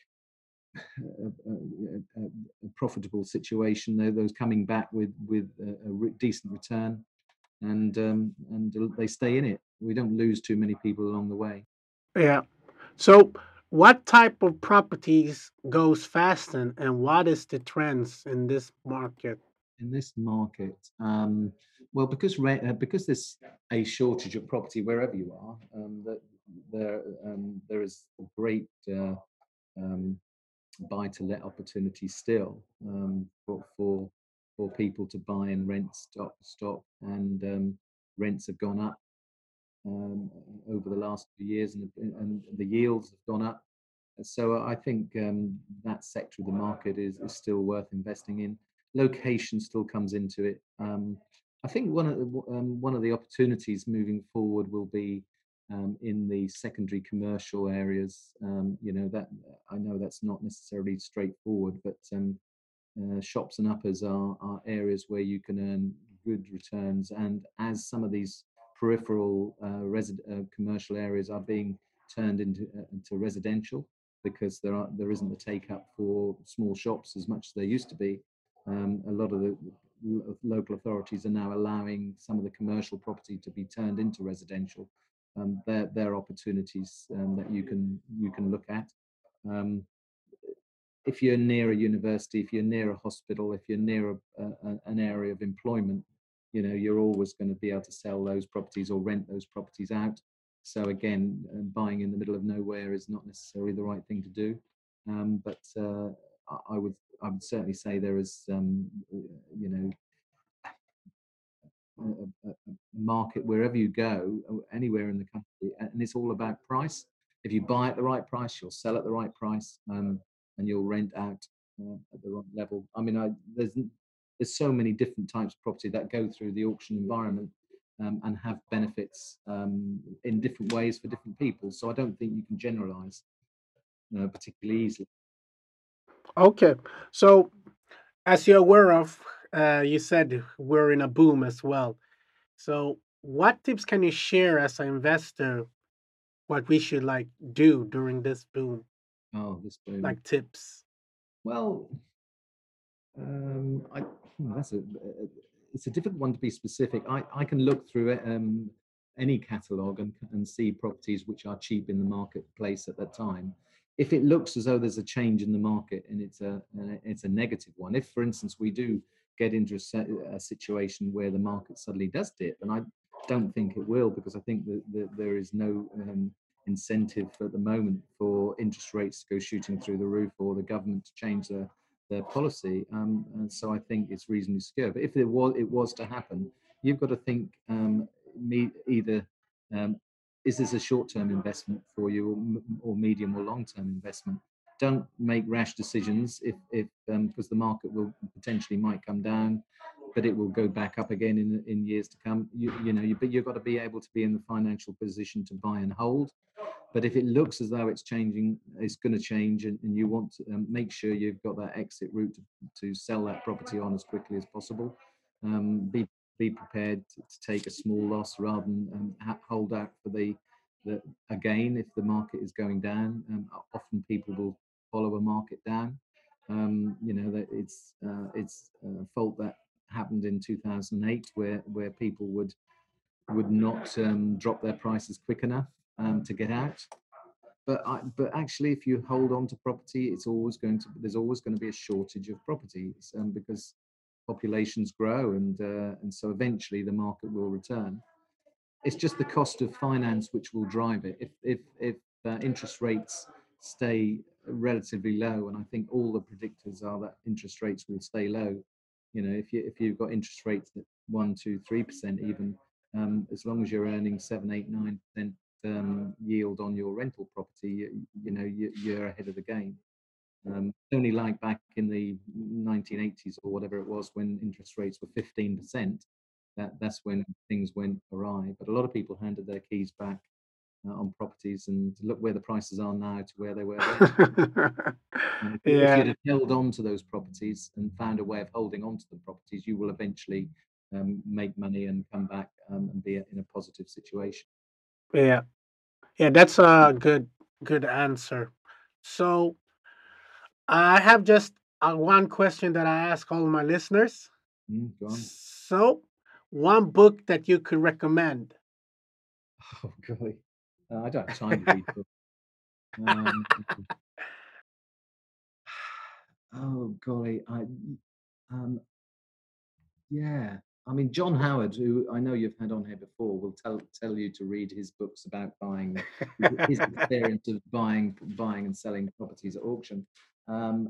a, a, a, a profitable situation, they're those coming back with with a, a re- decent return, and um, and they stay in it. We don't lose too many people along the way. Yeah. So, what type of properties goes fast, and, and what is the trends in this market? In this market, um, well, because re- uh, because there's a shortage of property wherever you are, um, that there um, there is a great uh, um, buy to let opportunity still, um, for, for for people to buy and rent stock stock and um, rents have gone up um, over the last few years, and, and the yields have gone up. So I think um, that sector of the market is, is still worth investing in. Location still comes into it. Um, I think one of the, um, one of the opportunities moving forward will be um, in the secondary commercial areas. Um, you know, that I know that's not necessarily straightforward, but um, uh, shops and uppers are, are areas where you can earn good returns. And as some of these peripheral uh, resi- uh, commercial areas are being turned into uh, into residential, because there are there isn't the take up for small shops as much as there used to be. Um, a lot of the lo- local authorities are now allowing some of the commercial property to be turned into residential. Um, there, there are opportunities um, that you can you can look at. Um, if you're near a university, if you're near a hospital, if you're near a, a, an area of employment, you know, you're always going to be able to sell those properties or rent those properties out. So again, uh, buying in the middle of nowhere is not necessarily the right thing to do. Um, but uh, I, I would I would certainly say there is, um, you know, a, a, a market wherever you go, anywhere in the country, and it's all about price. If you buy at the right price, you'll sell at the right price, um, and you'll rent out uh, at the right level. I mean, I, there's there's so many different types of property that go through the auction environment, um, and have benefits um, in different ways for different people. So I don't think you can generalise uh, particularly easily. Okay. So, as you're aware of, uh, you said we're in a boom as well. So, what tips can you share as an investor? What we should like do during this boom, Oh, this boom. like tips. Well, Um, I, hmm, that's a, uh, it's a difficult one to be specific. I, I can look through it, um, any catalogue and, and see properties which are cheap in the marketplace at that time. If it looks as though there's a change in the market and it's a uh, it's a negative one, if for instance we do get into a, se- a situation where the market suddenly does dip, and I don't think it will, because I think that, that there is no um, incentive at the moment for interest rates to go shooting through the roof or the government to change their their policy, um, and so I think it's reasonably secure. But if it was it was to happen, you've got to think, um, me, either um, is this a short-term investment for you, or, or medium or long-term investment? Don't make rash decisions if if um, because the market will potentially might come down, but it will go back up again in in years to come. You, you know, you, but you've got to be able to be in the financial position to buy and hold. But if it looks as though it's changing, it's going to change, and, and you want to um, make sure you've got that exit route to, to sell that property on as quickly as possible. Um, be be prepared to, to take a small loss rather than um, ha- hold out for the, the again if the market is going down. Um, often people will follow a market down. Um, you know, that it's uh, it's a fault that happened in two thousand eight, where where people would would not um, drop their prices quick enough um, to get out. But I, but actually, if you hold on to property, it's always going to there's always going to be a shortage of properties, um, because populations grow, and uh, and so eventually the market will return. It's just the cost of finance which will drive it. If if if uh, interest rates stay relatively low, and I think all the predictors are that interest rates will stay low. You know, if you if you've got interest rates at one, two, three percent even, um, as long as you're earning seven, eight, nine percent um, yield on your rental property, you, you know you, you're ahead of the game. Um, only like back in the nineteen eighties or whatever it was, when interest rates were fifteen percent, that that's when things went awry. But a lot of people handed their keys back uh, on properties, and look where the prices are now to where they were then. And if, you, if Yeah, you'd have held on to those properties and found a way of holding on to the properties, you will eventually um, make money and come back um, and be in a positive situation. yeah, yeah. That's a good good answer. So I have just uh, one question that I ask all my listeners. Mm, go on. So, one book that you could recommend? Oh, golly. Uh, I don't have time to read books. Um, oh, golly. I, um, yeah. I mean, John Howard, who I know you've had on here before, will tell tell you to read his books about buying, his experience of buying buying and selling properties at auction. Um,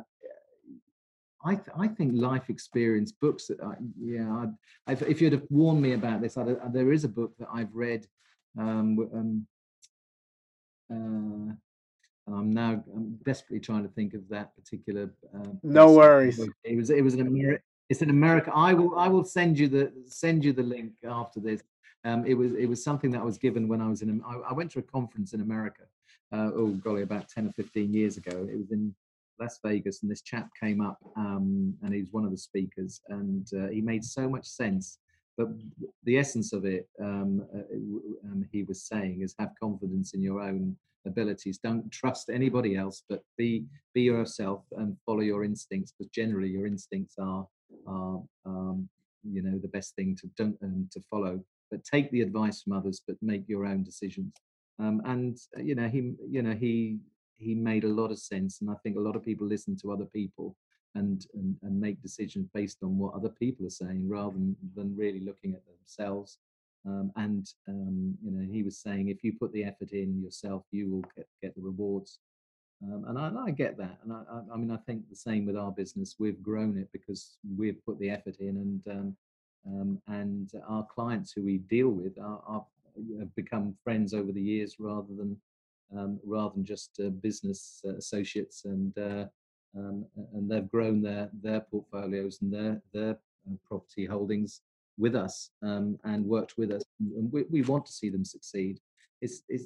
I th- I think life experience books that I, yeah, I'd, I've, if you'd have warned me about this, I'd, uh, there is a book that I've read, um, w- um, uh, and I'm now I'm desperately trying to think of that particular uh, No person. worries. It was it was an Ameri- it's an America. I will I will send you the send you the link after this. Um, it was it was something that was given when I was in. I, I went to a conference in America. Uh, oh golly, about ten or fifteen years ago. It was in Las Vegas, and this chap came up, um, and he was one of the speakers, and uh, he made so much sense. But the essence of it, um, uh, um, he was saying, is have confidence in your own abilities. Don't trust anybody else, but be be yourself and follow your instincts, because generally your instincts are are um, you know the best thing to don't um, to follow. But take the advice from others, but make your own decisions. Um, and uh, you know he you know he he made a lot of sense, and I think a lot of people listen to other people and and, and make decisions based on what other people are saying rather than, than really looking at themselves. Um, and um, you know, he was saying, if you put the effort in yourself, you will get, get the rewards. Um, and I, I get that. And I, I, I mean, I think the same with our business. We've grown it because we've put the effort in, and um, um, and our clients who we deal with are, are have become friends over the years, rather than um, rather than just uh, business uh, associates. And uh, um, and they've grown their their portfolios and their their uh, property holdings with us, um, and worked with us. And we, we want to see them succeed. It's, it's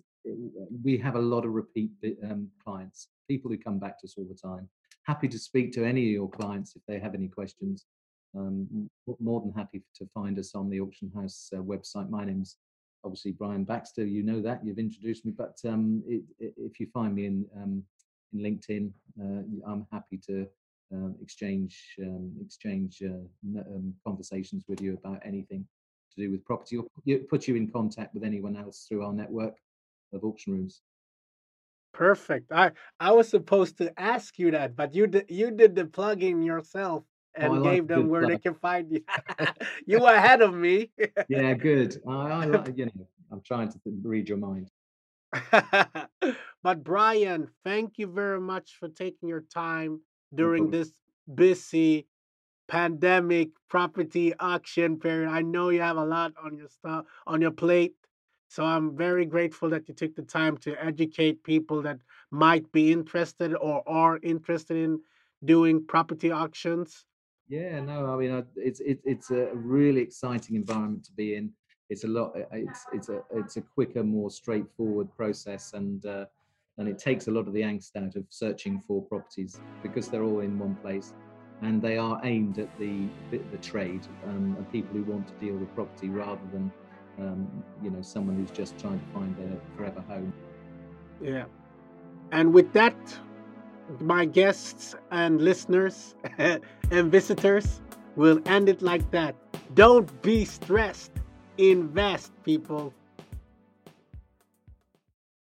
we have a lot of repeat um, clients, people who come back to us all the time. Happy to speak to any of your clients if they have any questions. Um, more than happy to find us on the Auction House uh, website. My name's obviously Brian Baxter. You know that, you've introduced me. But um, it, it, if you find me in um, in LinkedIn, uh, I'm happy to um, exchange um, exchange uh, um, conversations with you about anything to do with property, or put you in contact with anyone else through our network of auction rooms. Perfect. I I was supposed to ask you that, but you did you did the plugging yourself Oh, I and like gave a them good where they plug. can find you. You were ahead of me. Yeah, good. I, I like, you know, I'm trying to th- read your mind. But Brian, thank you very much for taking your time No during problem. this busy pandemic property auction period. I know you have a lot on your stuff on your plate. So I'm very grateful that you took the time to educate people that might be interested or are interested in doing property auctions. Yeah, no, I mean, I, it's it, it's a really exciting environment to be in. It's a lot. It's it's a it's a quicker, more straightforward process, and uh, and it takes a lot of the angst out of searching for properties, because they're all in one place, and they are aimed at the the, the trade um, and people who want to deal with property, rather than um, you know someone who's just trying to find their forever home. Yeah. And with that, my guests and listeners and visitors will end it like that. Don't be stressed. Invest, people.